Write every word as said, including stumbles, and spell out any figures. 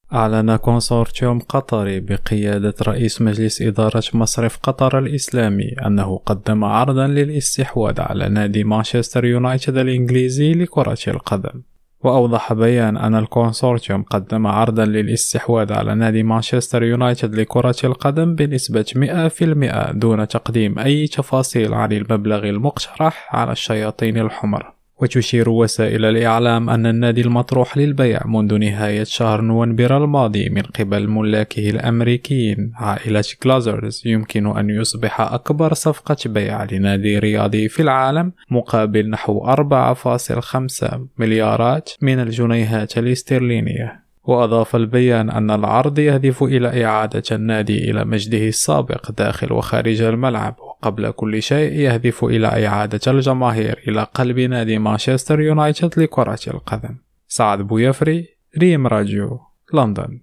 أعلن كونسورتيوم قطري بقيادة رئيس مجلس إدارة مصرف قطر الإسلامي أنه قدم عرضا للاستحواذ على نادي مانشستر يونايتد الإنجليزي لكرة القدم. وأوضح بيان أن الكونسورتيوم قدم عرضا للاستحواذ على نادي مانشستر يونايتد لكرة القدم بنسبة مئة بالمئة دون تقديم أي تفاصيل عن المبلغ المقترح على الشياطين الحمر. وتشير وسائل الإعلام أن النادي المطروح للبيع منذ نهاية شهر نوفمبر الماضي من قبل ملاكه الأمريكيين عائلة غلازرز يمكن أن يصبح أكبر صفقة بيع لنادي رياضي في العالم مقابل نحو أربعة فاصلة خمسة مليارات من الجنيهات الاسترلينية. وأضاف البيان أن العرض يهدف إلى إعادة النادي إلى مجده السابق داخل وخارج الملعب، وقبل كل شيء يهدف إلى إعادة الجماهير إلى قلب نادي مانشستر يونايتد لكرة القدم. سعد بويفري، ريم راديو، لندن.